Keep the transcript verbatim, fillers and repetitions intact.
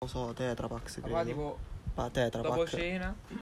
so, Tetra Pak, Papà credo. tipo Pa- Tetra dopo Pak. cena.